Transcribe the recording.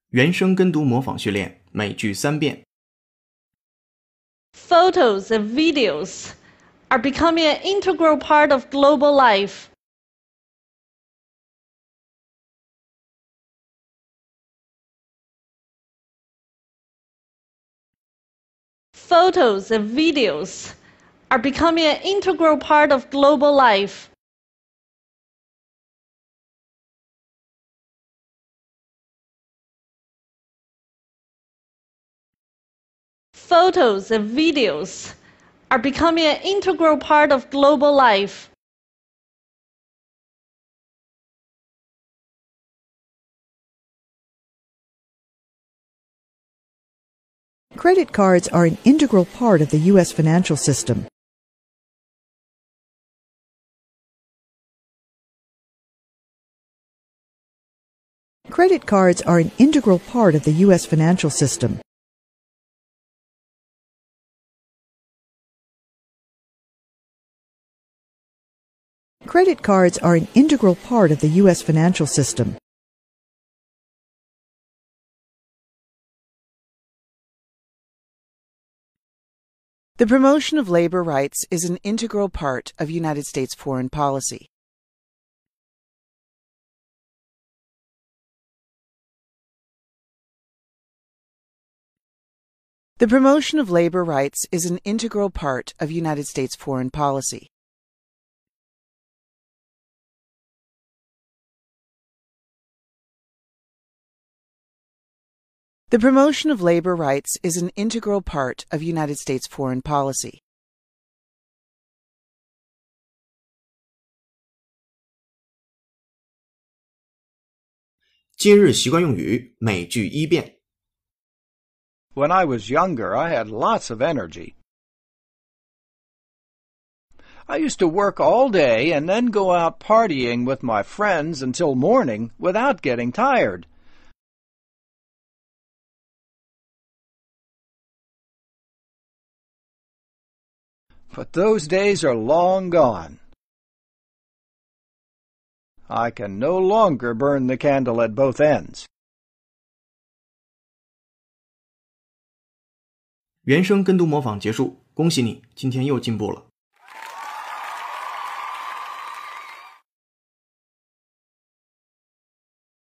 原声跟读模仿训练，每句3遍。 Photos and videos are becoming an integral part of global life. Photos and videos are becoming an integral part of global life. Photos and videos are becoming an integral part of global life. Credit cards are an integral part of the U.S. financial system. Credit cards are an integral part of the U.S. financial system. Credit cards are an integral part of the U.S. financial system. The promotion of labor rights is an integral part of United States foreign policy. The promotion of labor rights is an integral part of United States foreign policy. The promotion of labor rights is an integral part of United States foreign policy. 今日习惯用语，每句1遍。 When I was younger, I had lots of energy. I used to work all day and then go out partying with my friends until morning without getting tired. But those days are long gone. I can no longer burn the candle at both ends. 原声跟读模仿结束，恭喜你，今天又进步了。